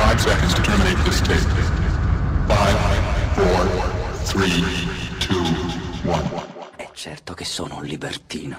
5 seconds to terminate this tape. 5, 4, 3, 2, 1. È certo che sono un libertino.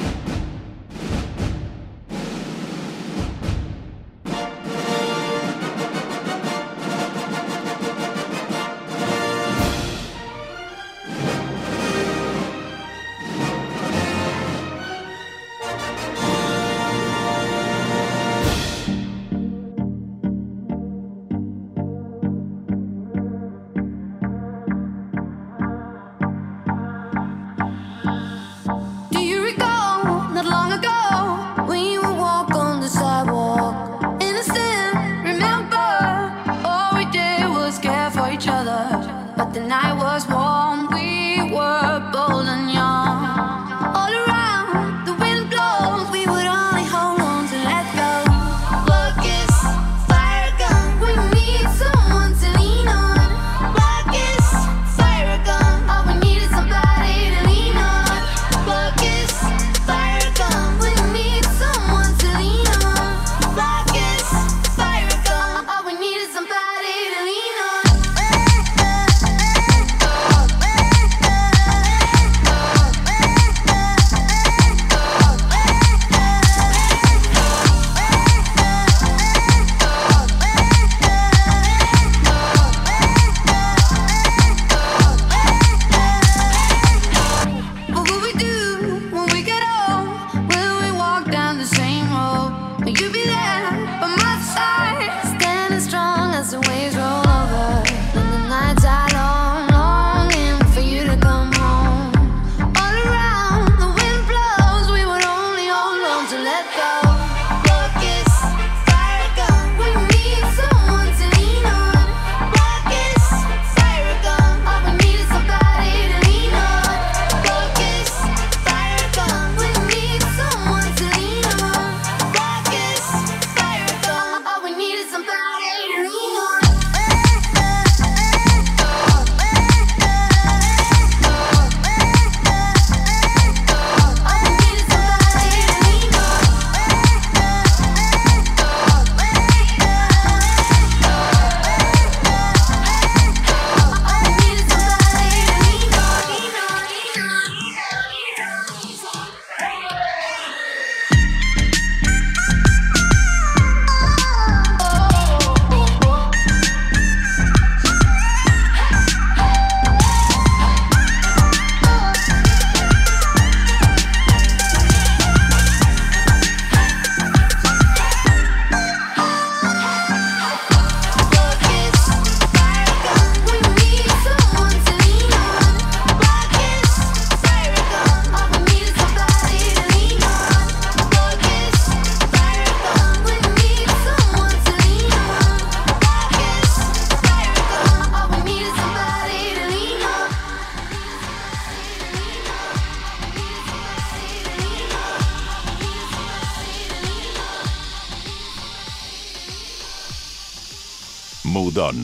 Mood On.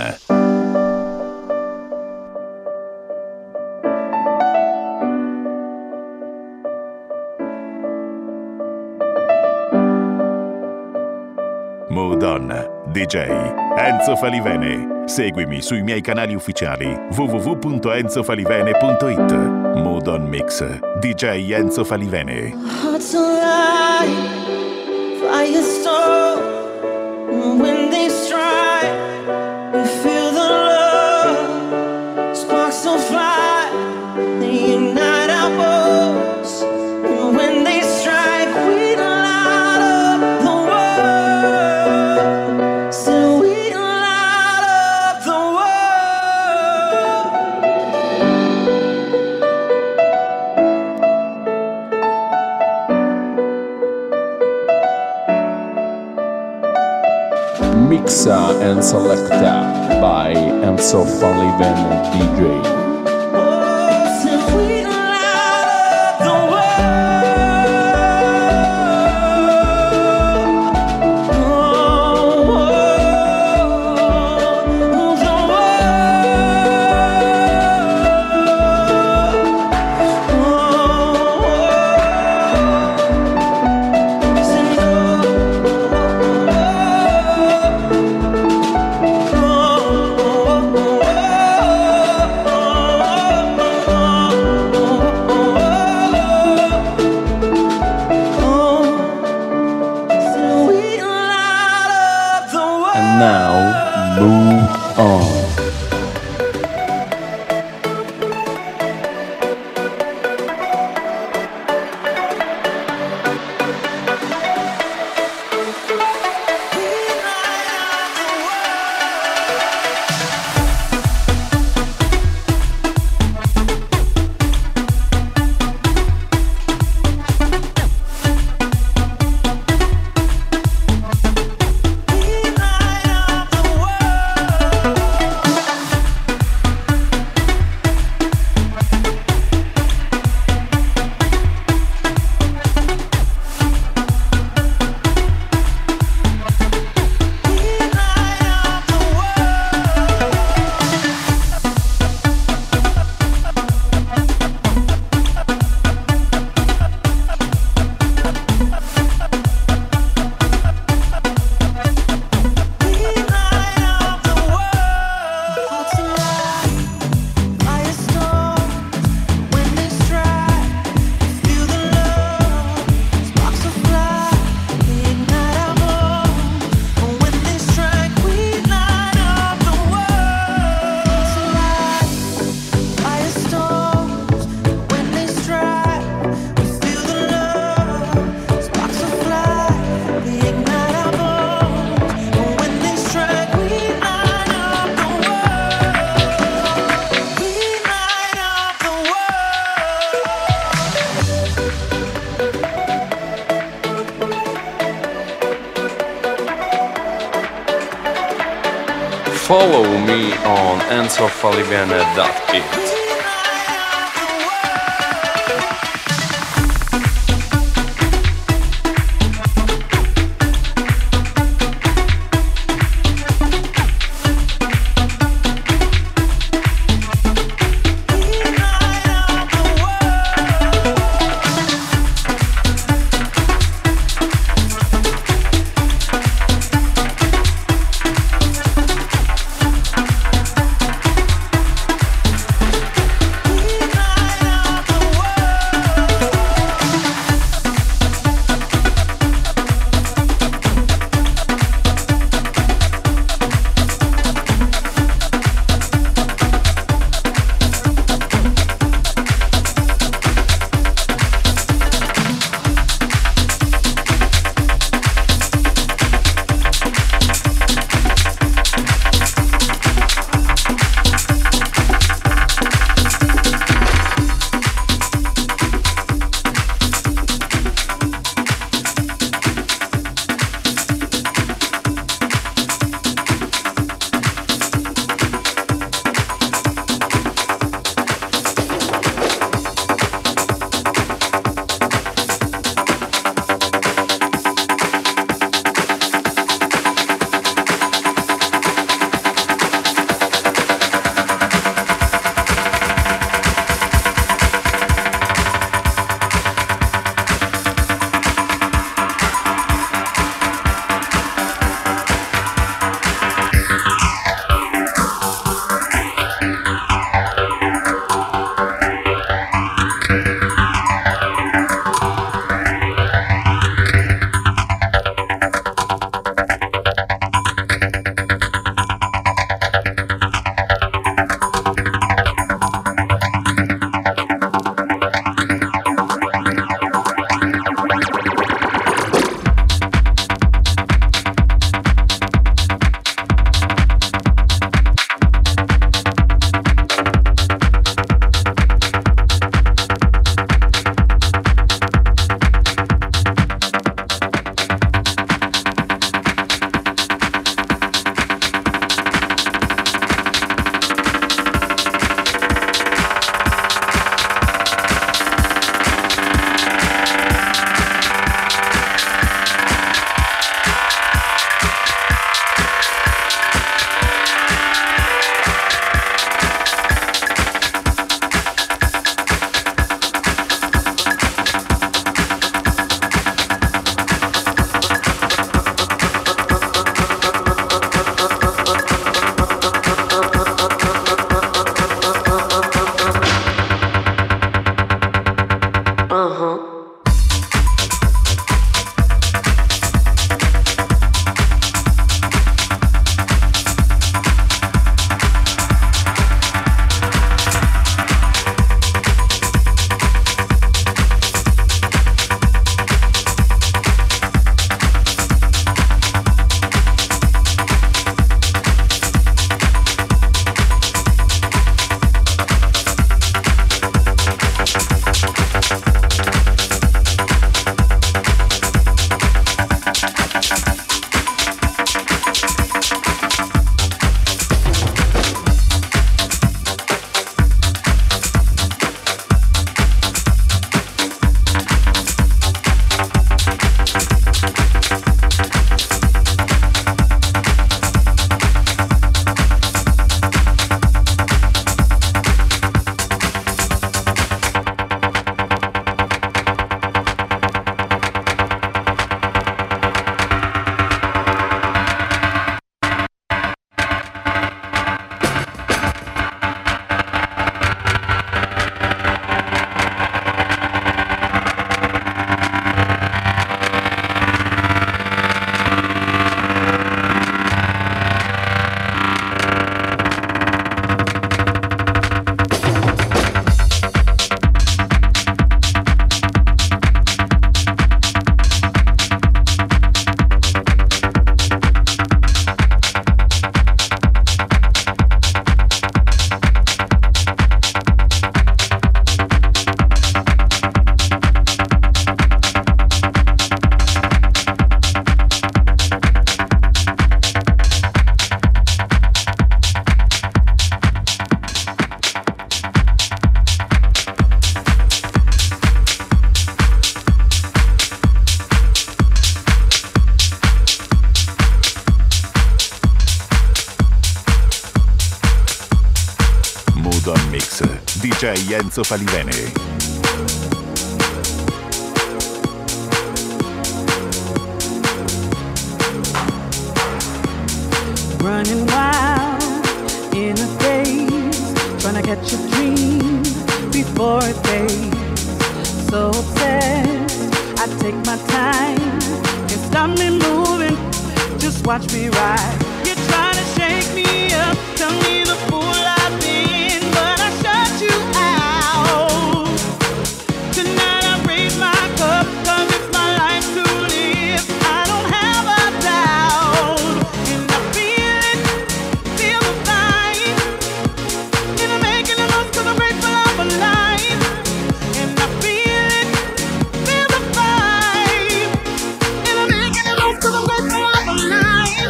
Mood On, DJ Enzo Falivene. Seguimi sui miei canali ufficiali www.enzofalivene.it. Mood On Mix, DJ Enzo Falivene. Hearts alive, firestorm. When they strike, we feel the love. Sparks will fly, they ignite our bones. And when they strike, we light up the world. So we light up the Mixa and Selecta by Enzo Falivene DJ. And now, move on. Follow me on enzofalivene.it. Dance, DJ Enzo Falivene. Running wild in a daze, trying to catch a dream before it fades. So obsessed, I take my time. Can't stop me moving, just watch me ride. You're trying to shake me up, tell me the fool I've been, but I shut you out. Tonight I raise my cup, 'cause it's my life to live. I don't have a doubt, and I feel it, feel the vibe. And I'm making the most 'cause I'm grateful I'm alive. And I feel it, feel the vibe. And I'm making the most 'cause I'm grateful I'm alive.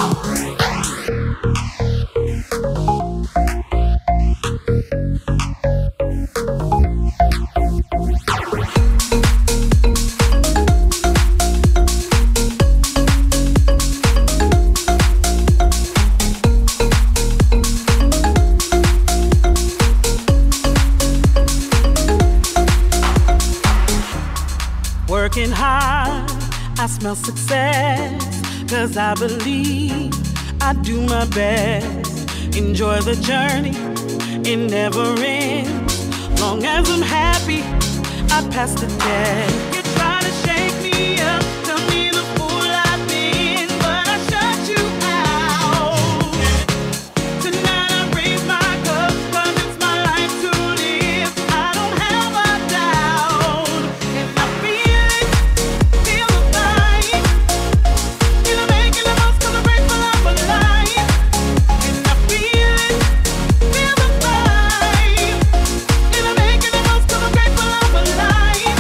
Working hard, I smell success, 'cause I believe I do my best. Enjoy the journey, it never ends. Long as I'm happy, I pass the test. You try to shake me up, tell me the fool I've been, but I shut you out. Tonight I raise my cup, 'cause it's my life to live. I don't have a doubt, and I feel it, feel the vibe. And I'm making the most 'cause I'm grateful I'm alive. And I feel it, feel the vibe. And I'm making the most 'cause I'm grateful I'm alive.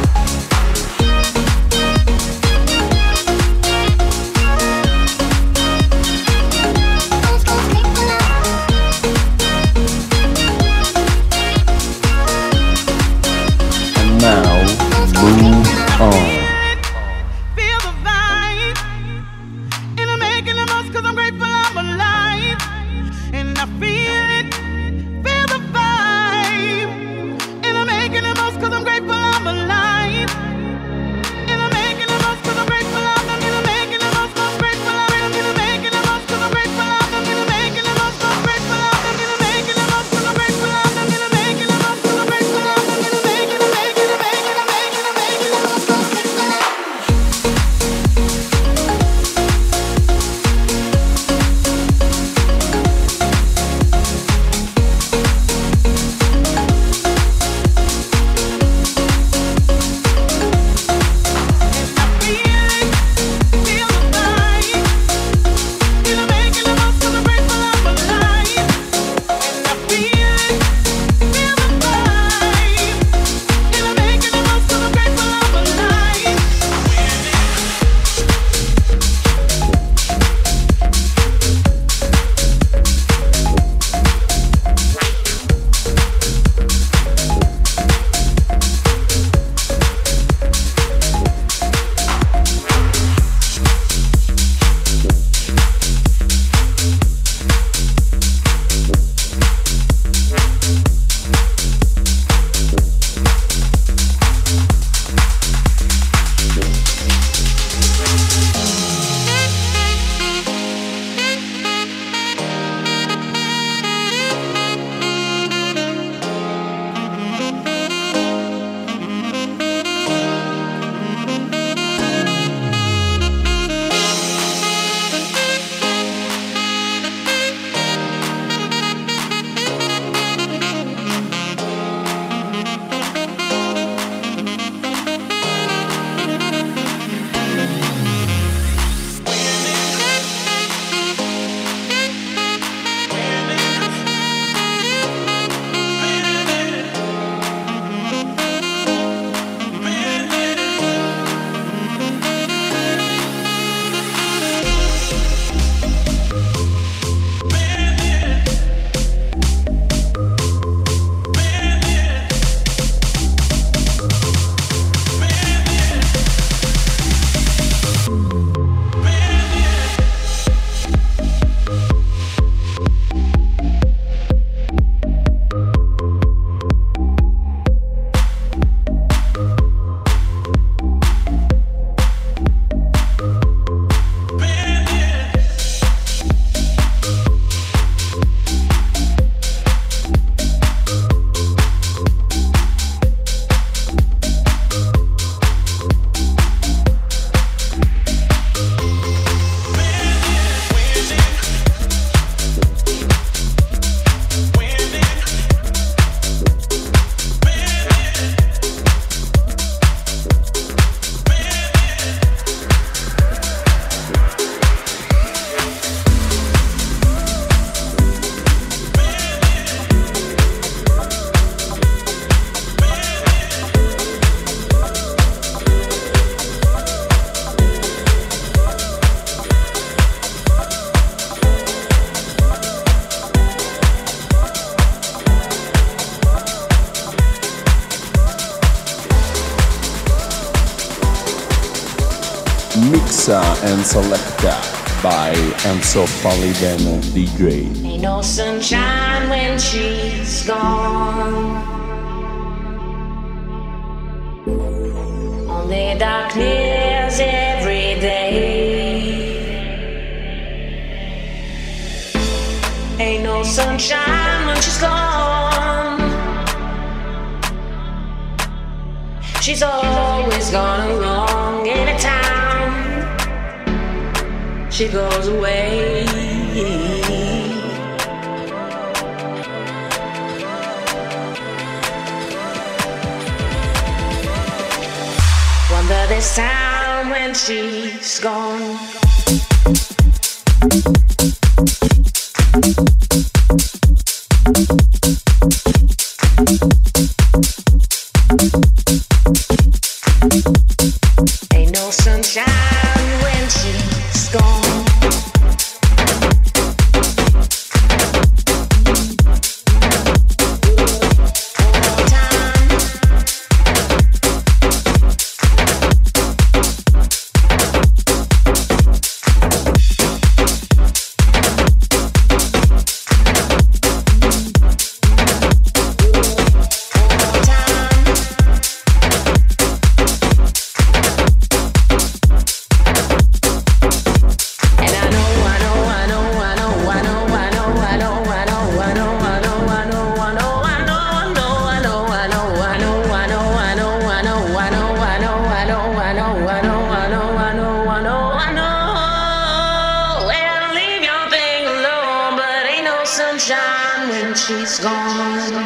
And now, move on. Feel the vibe. And I'm making the most 'cause I'm grateful I'm alive. And I feel it, feel the vibe. And I'm making the most 'cause I'm grateful I'm alive. And I'm making the most 'cause I'm grateful I'm making the most 'cause I'm grateful I'm making the most 'cause I'm grateful I'm making the most 'cause I'm grateful I'm making the most 'cause I'm grateful I'm making the most 'cause I'm grateful I'm making the most 'cause I'm grateful I'm Mixa and Selecta by Enzo Falivene DJ. Ain't no sunshine when she's gone. Only darkness every day. Ain't no sunshine when she's gone. She's always gone wrong anytime she goes away. Wonder this time when she's gone. Ain't no sunshine when she's gone. Sunshine when she's gone.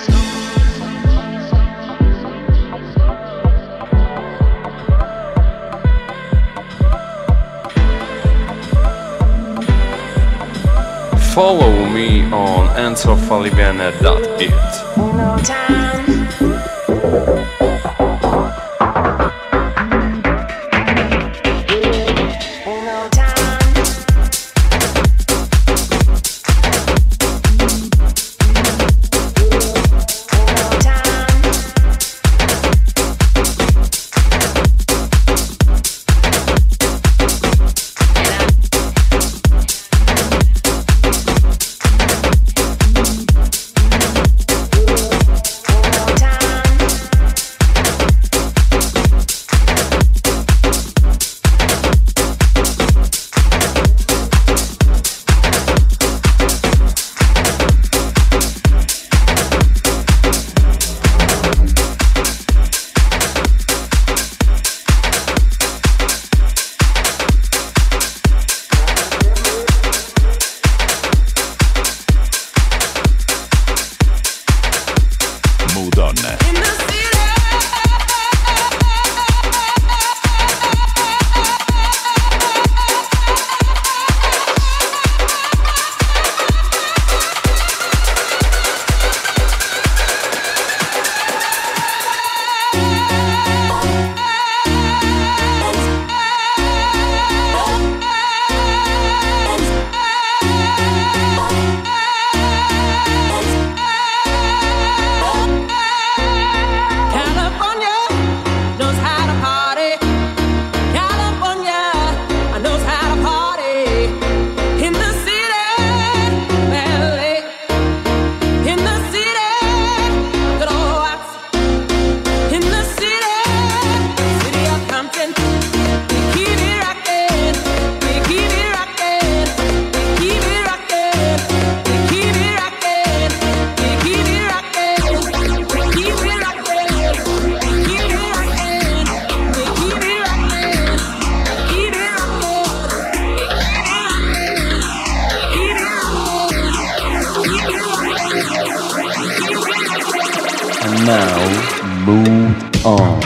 Follow me on enzofalivene.it. No time. Now move on.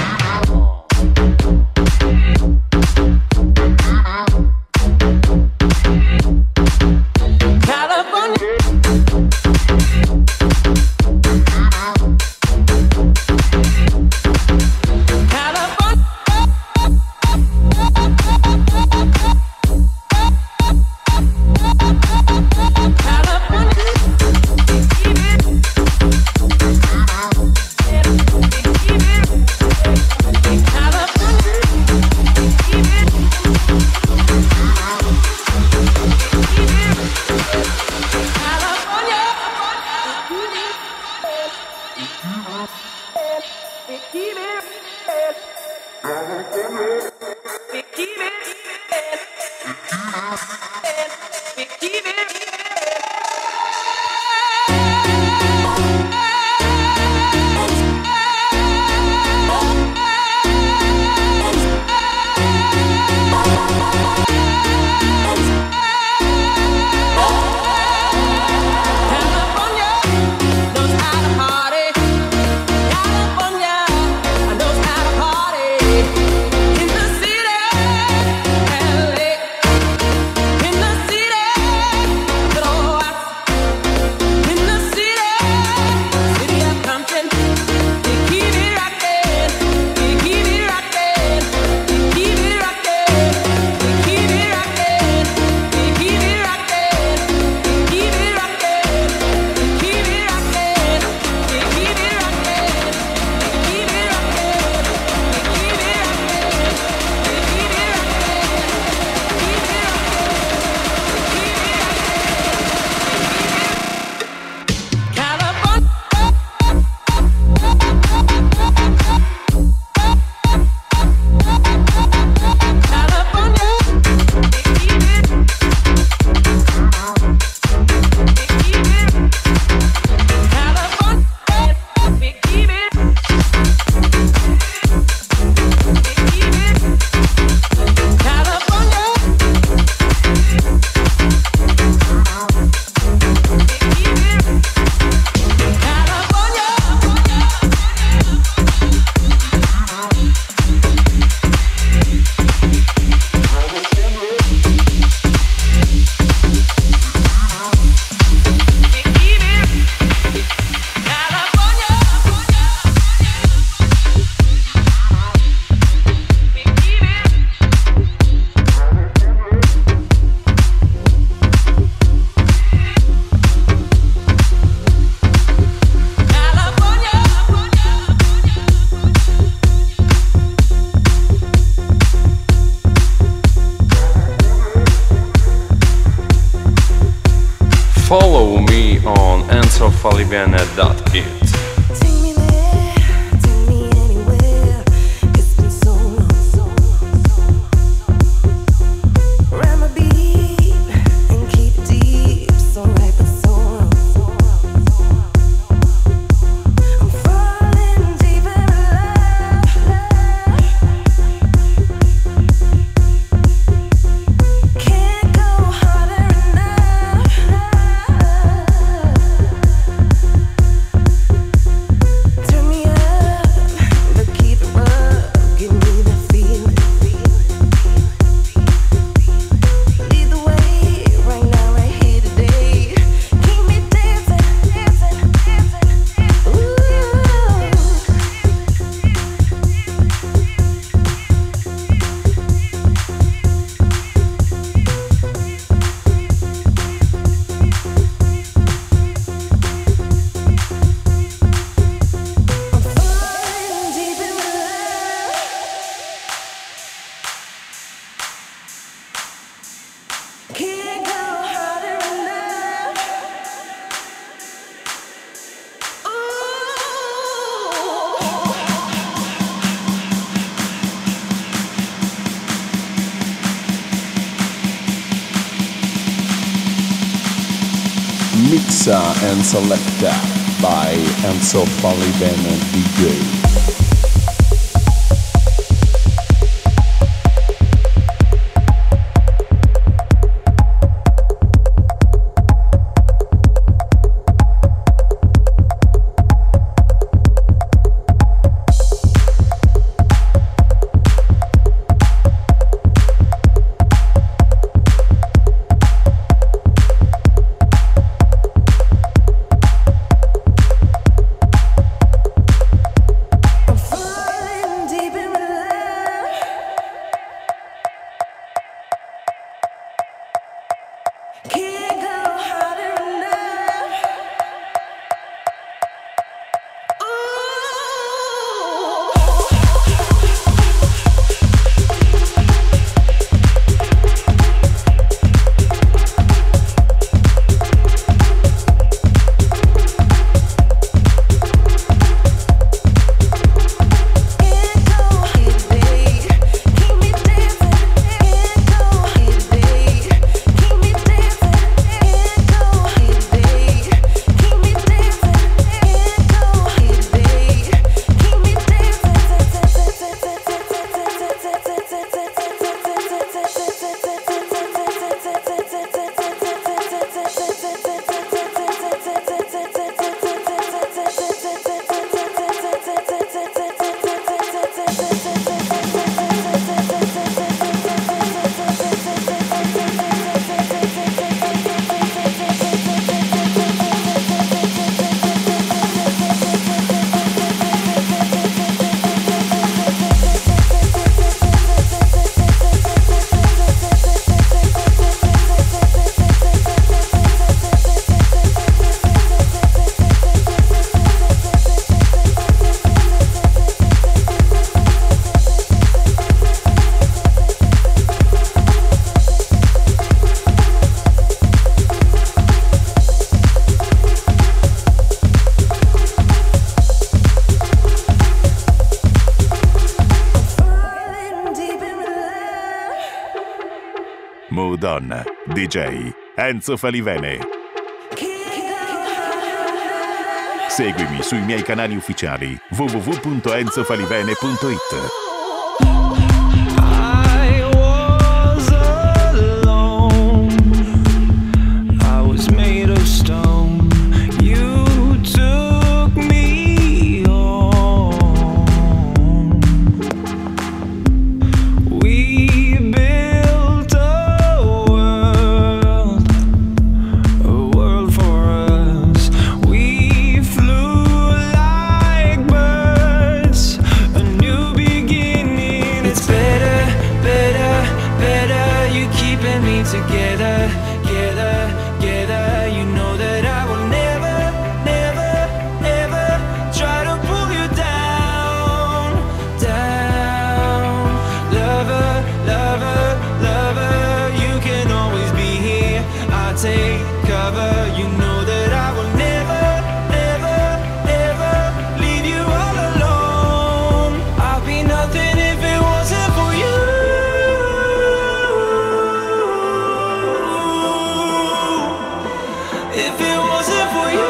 California. Follow me on enzofalivene.it. Mixa and Selecta by Enzo Falivene DJ. Mood On, DJ Enzo Falivene. Seguimi sui miei canali ufficiali www.enzofalivene.it. Begin cover. You know that I will never, never, never leave you all alone. I'd be nothing if it wasn't for you. If it wasn't for you.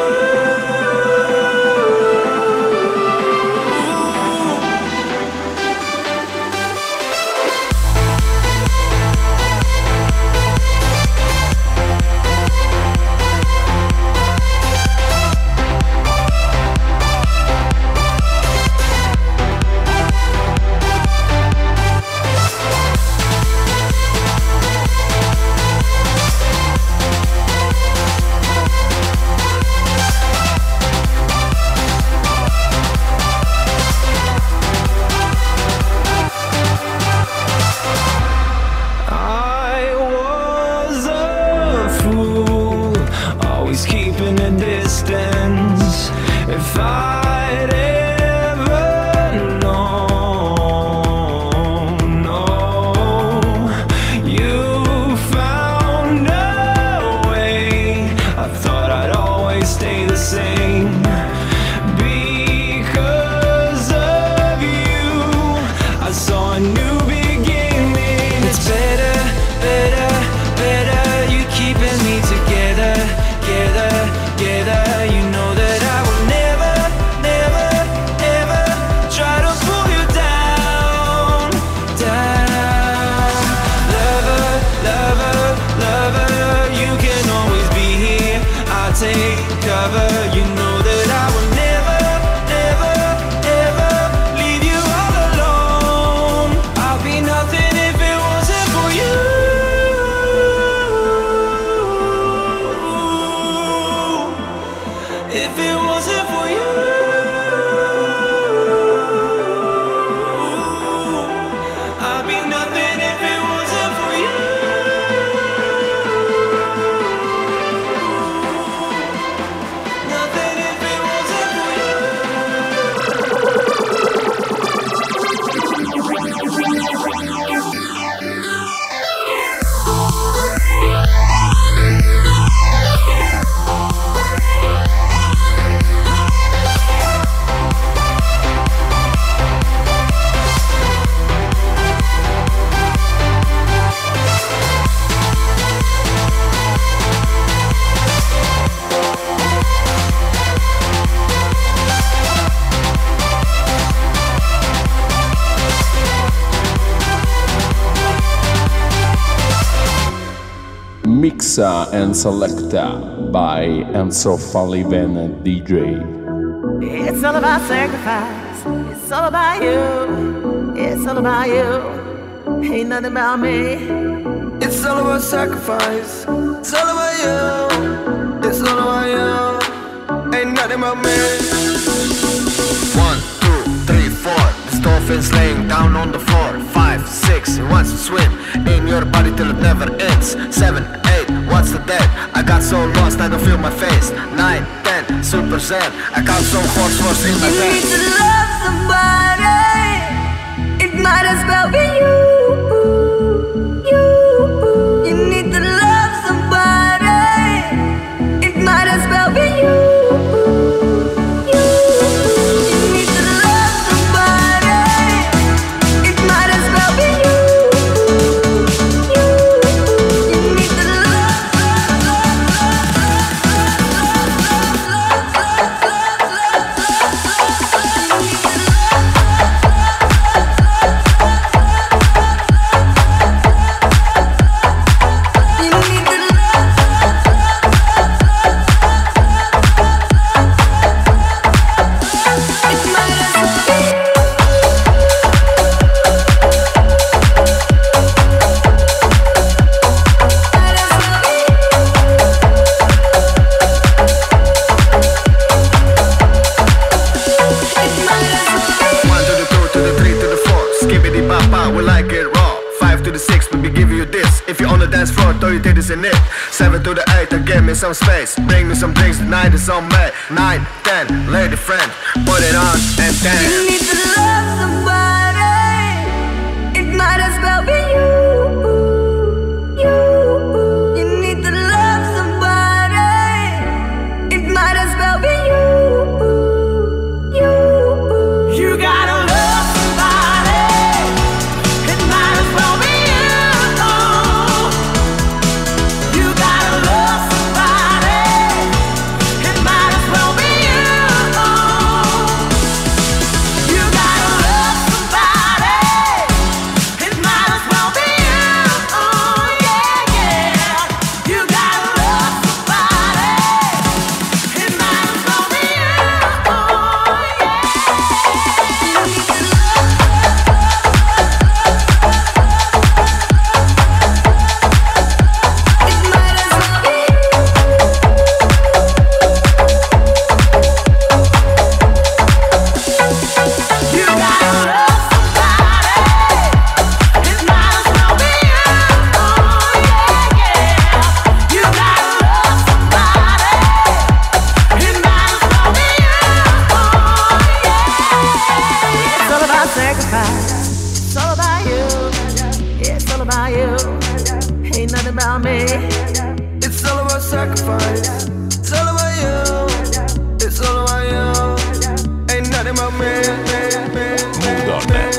If I'd ever known, no, you found a way. I thought I'd always stay the same. Because of you, I saw a new beginning. It's better, better, better. You keeping me together, together, together. You know that I will never, never, ever try to pull you down, down. Lover, lover, lover, you can always be here. I'll take cover. You know that I will never, never, ever leave you all alone. I'll be nothing if it wasn't for you. If it wasn't for you, I'd be nothing if it wasn't for you. Nothing if it wasn't for you. Mixa and Selecta by Enzo Falivene DJ. It's all about sacrifice. It's all about you. It's all about you. Ain't nothing about me. It's all about sacrifice. It's all about you. It's all about you. Ain't nothing about me. 1, 2, 3, 4. The dolphins laying down on the floor. 5, 6. He wants to swim in your body till it never ends. 7, 8. What's the dead? I got so lost I don't feel my face. 9, 10. Super zen. I got some horse force in my You head. need to love somebody. It might as well be you. You need to love somebody. It might as well be you. You need to love somebody. It might as well be you. You need to in it. 7 to the 8, give me some space. Bring me some drinks, tonight is on me. 9, 10, lady friend, put it on and dance. You need to love somebody. It might as well be you. You need to love somebody. sacrifice. It's all about you. It's all about you. Ain't nothing about me. Mood On.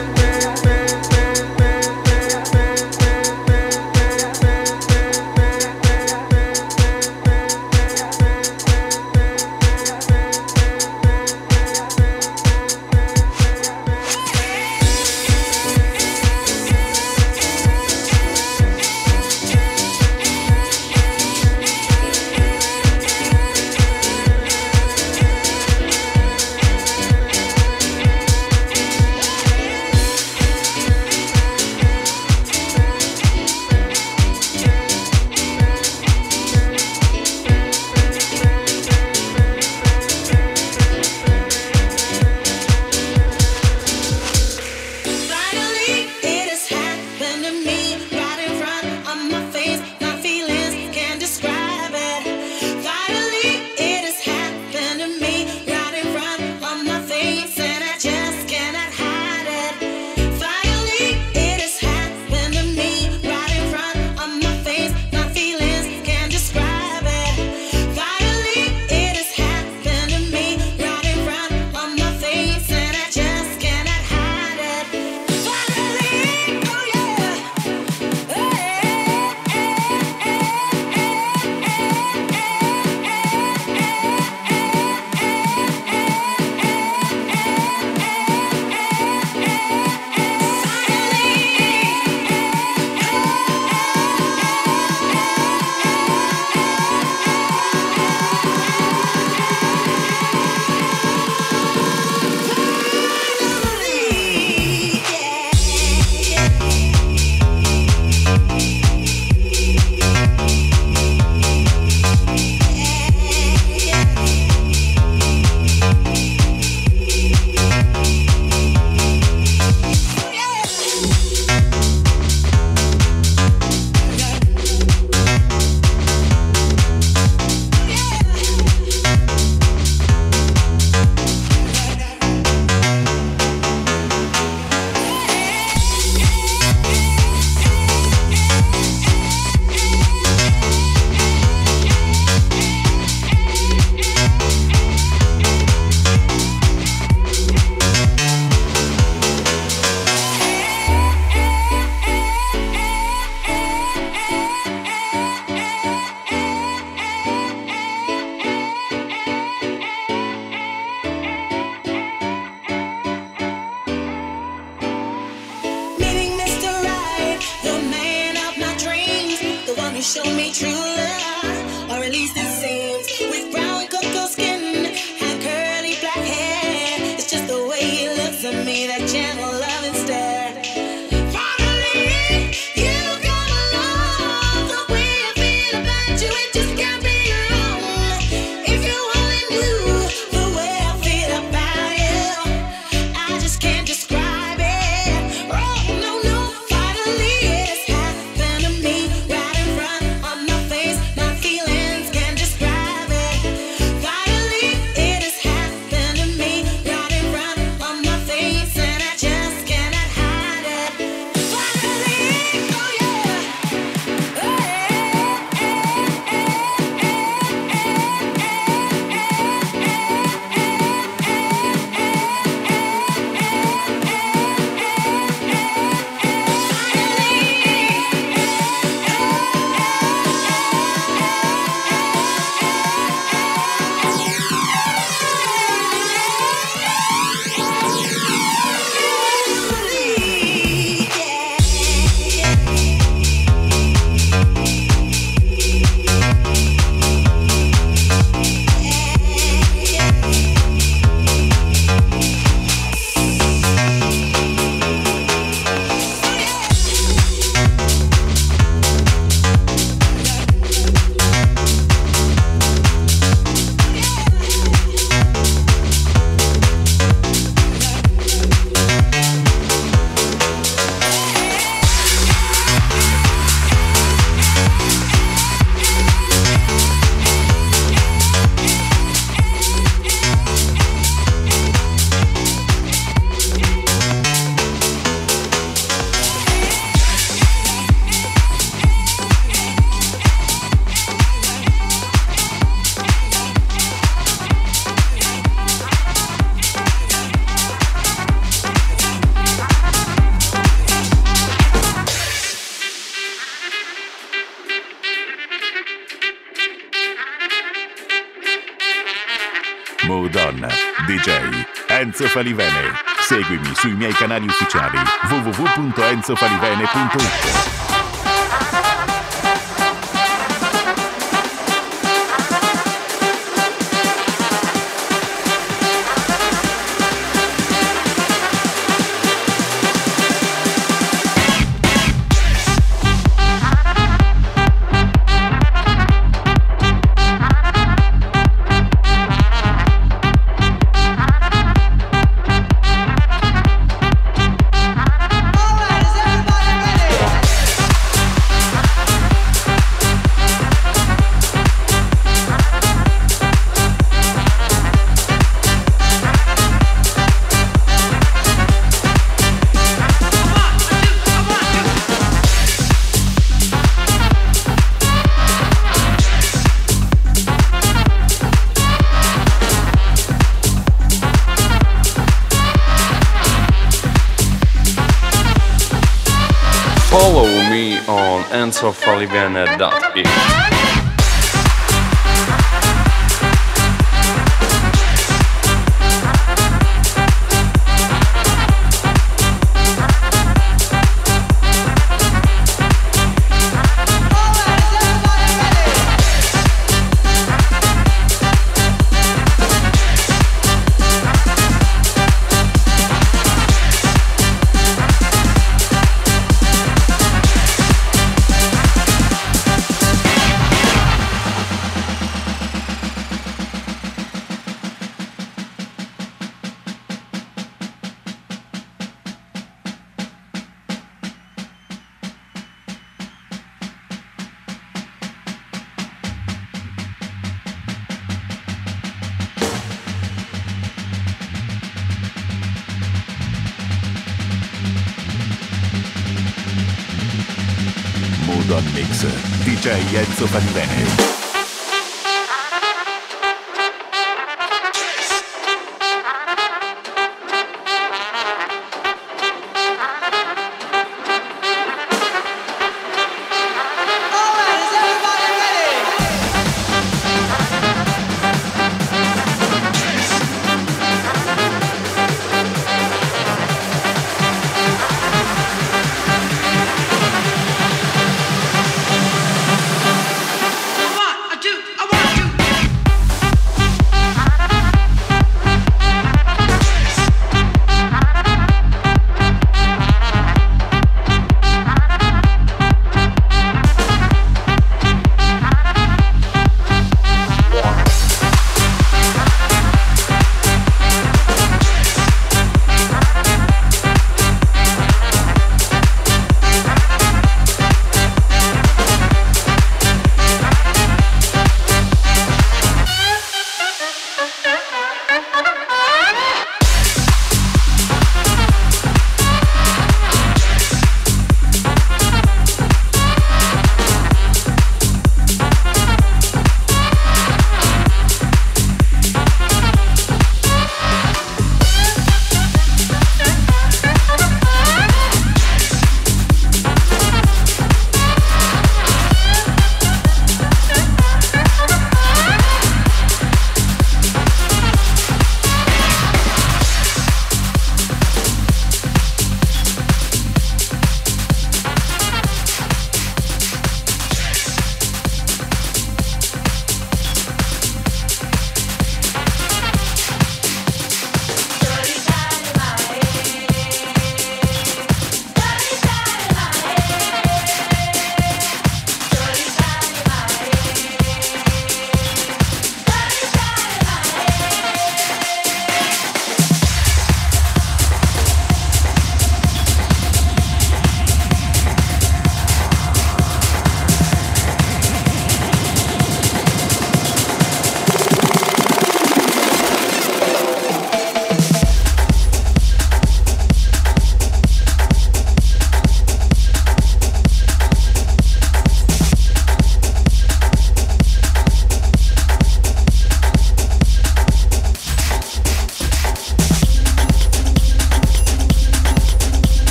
Mood On, DJ Enzo Falivene. Seguimi sui miei canali ufficiali www.enzofalivene.it. Follow me on enzofalivene.it. Mood On Mix, DJ Enzo Falivene. Come on!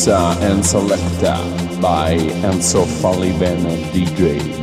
Mixa and Selecta by Enzo Falliven DJ.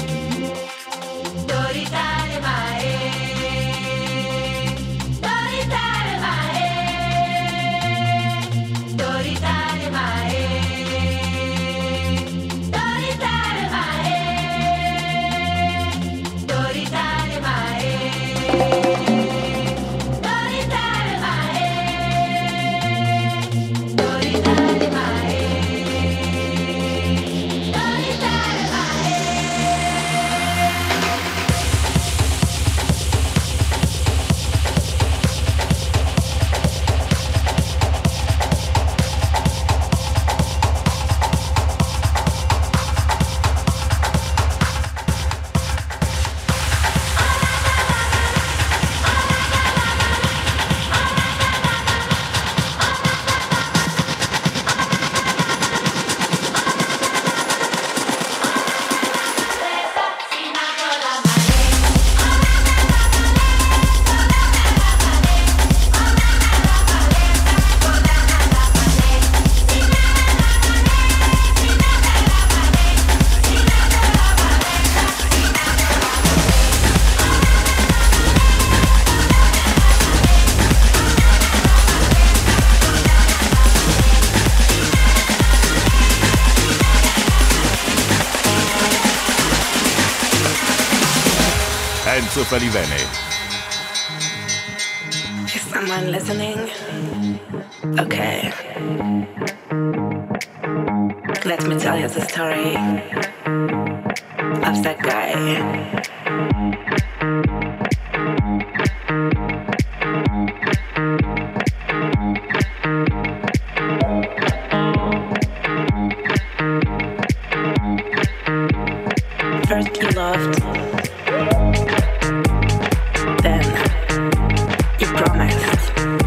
Enzo Falivene. Is someone listening? Okay. Let me tell you the story of that guy. First you loved, then you promised,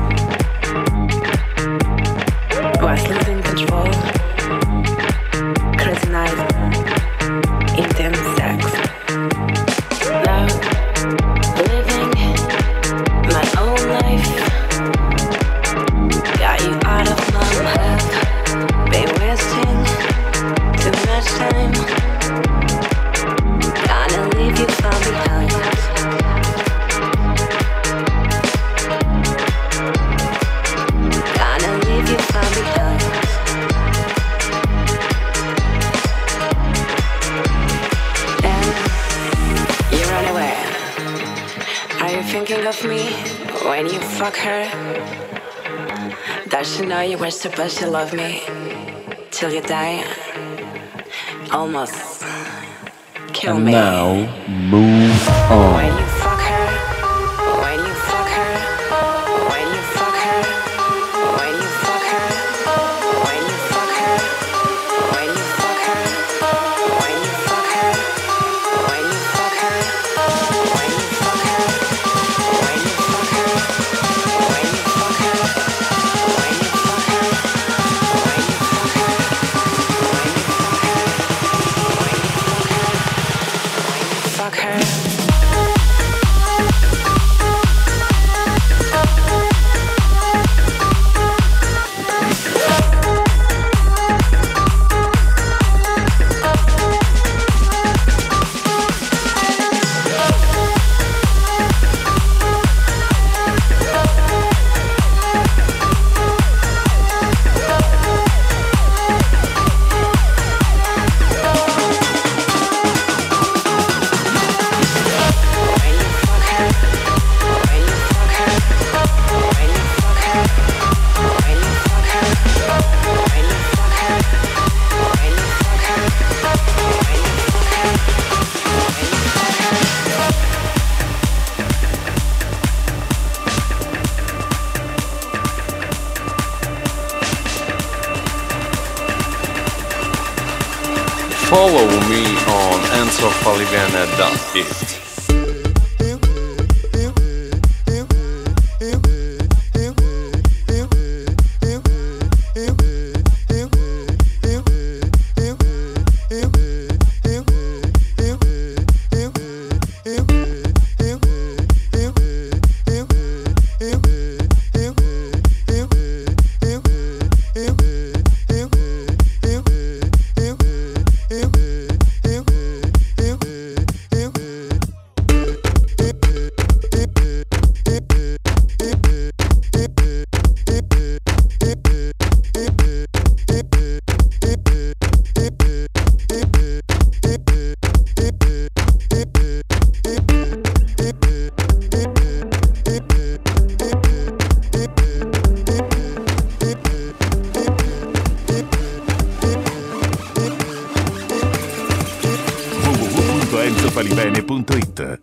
was losing control, crazy night, intense sex, love, living my own life, got you out of my life, been wasting too much time. Leave you far behind. Gonna leave you far behind. Then you run away. Are you thinking of me when you fuck her? Does she know you were supposed to love me till you die? Almost. Kill And me. now, move on. When you fuck her, when you fuck her, when you fuck her, when you fuck her, when you fuck her, when you fuck her, when you fuck her, when you fuck her, when you fuck her, when you fuck her, when you fuck her, when you fuck her, when you fuck her, fuck her. Follow me on enzofalivene.it. www.enzofalivene.it.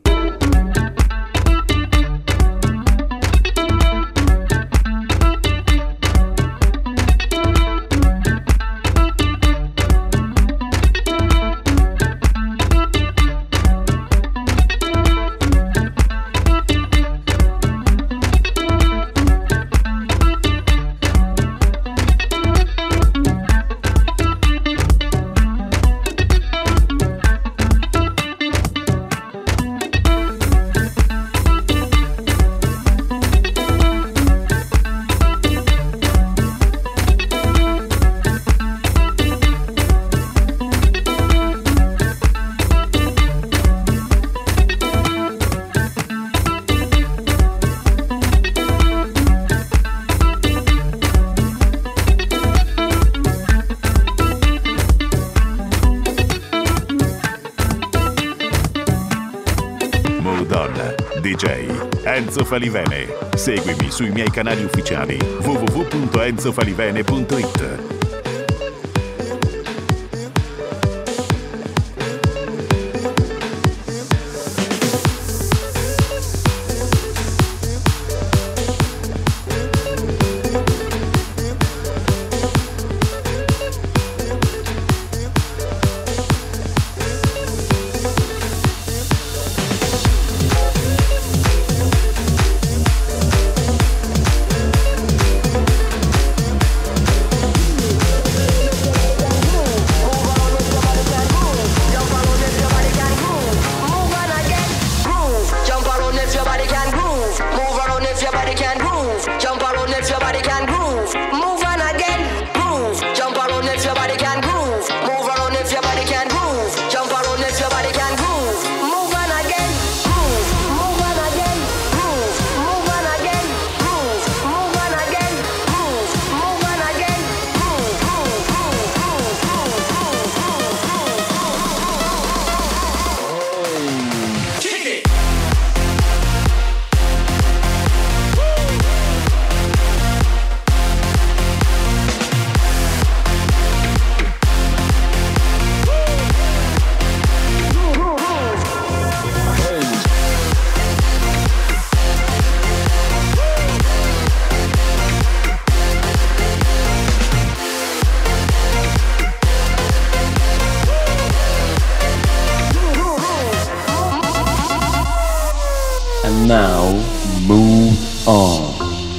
DJ Enzo Falivene. Seguimi sui miei canali ufficiali www.enzofalivene.it. Now move on.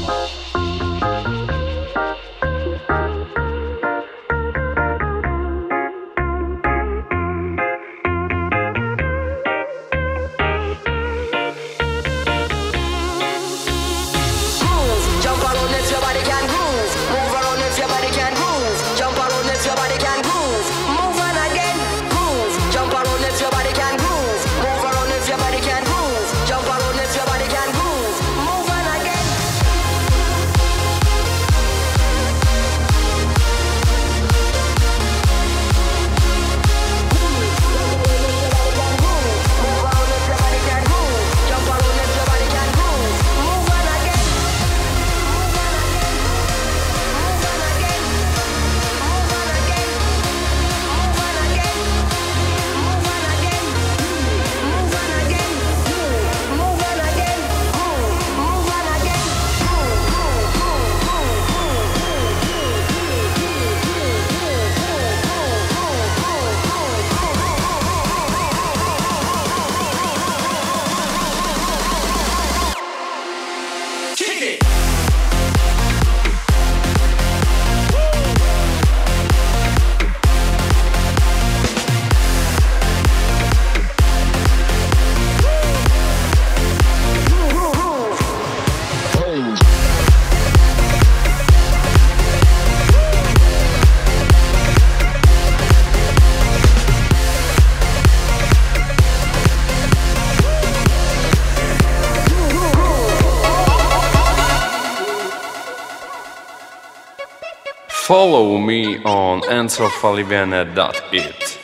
Follow me on enzofalivene.it.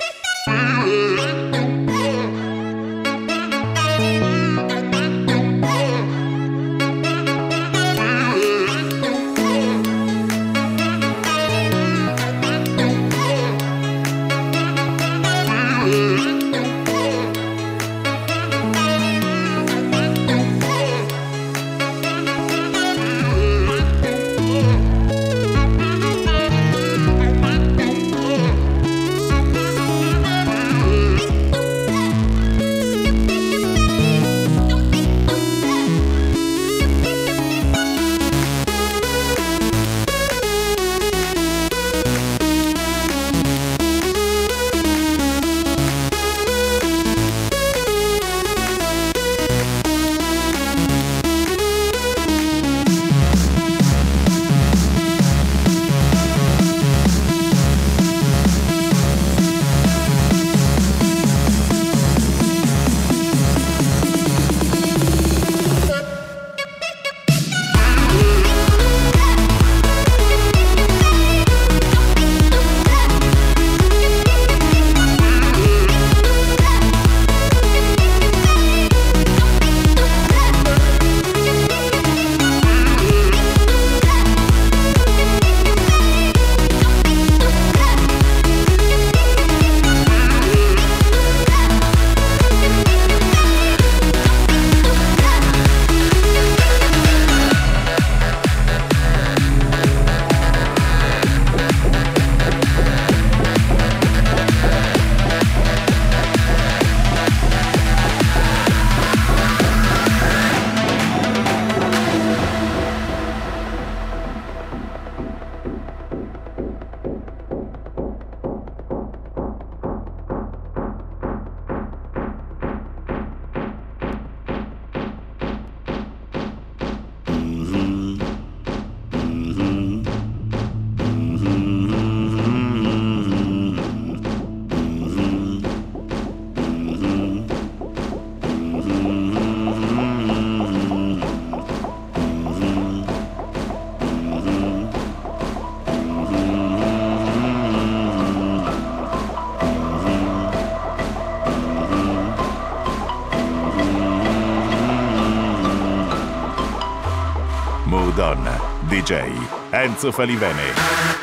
Don, DJ Enzo Falivene.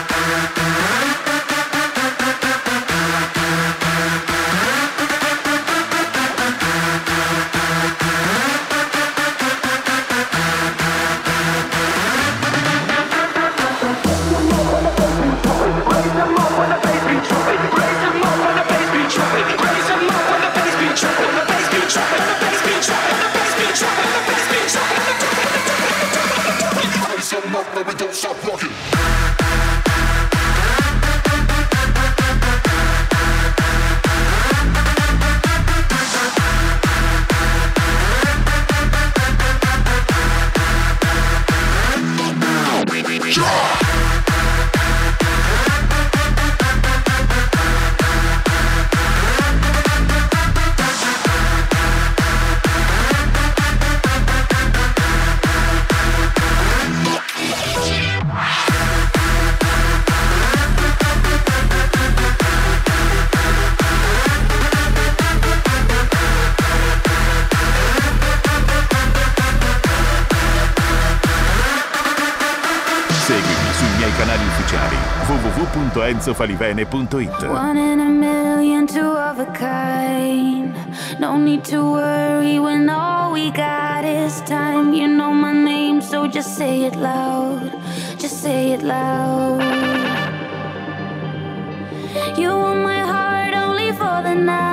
Seguimi sui miei canali ufficiali www.enzofalivene.it. One in a million, two of a kind. No need to worry when all we got is time. You know my name, so just say it loud. Just say it loud. You want my heart only for the night.